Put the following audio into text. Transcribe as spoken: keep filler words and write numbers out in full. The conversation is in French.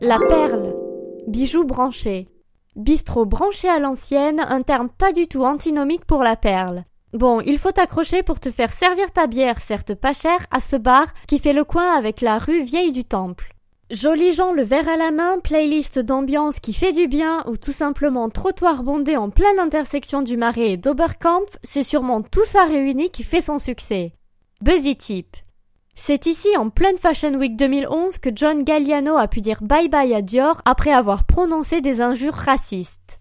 La perle. Bijou branché. Bistrot branché à l'ancienne, un terme pas du tout antinomique pour la perle. Bon, il faut t'accrocher pour te faire servir ta bière, certes pas chère, à ce bar qui fait le coin avec la rue Vieille du Temple. Jolis gens le verre à la main, playlist d'ambiance qui fait du bien ou tout simplement trottoir bondé en pleine intersection du Marais et d'Oberkampf, c'est sûrement tout ça réuni qui fait son succès. Buzzy Tip. C'est ici, en pleine Fashion Week deux mille onze, que John Galliano a pu dire bye bye à Dior après avoir prononcé des injures racistes.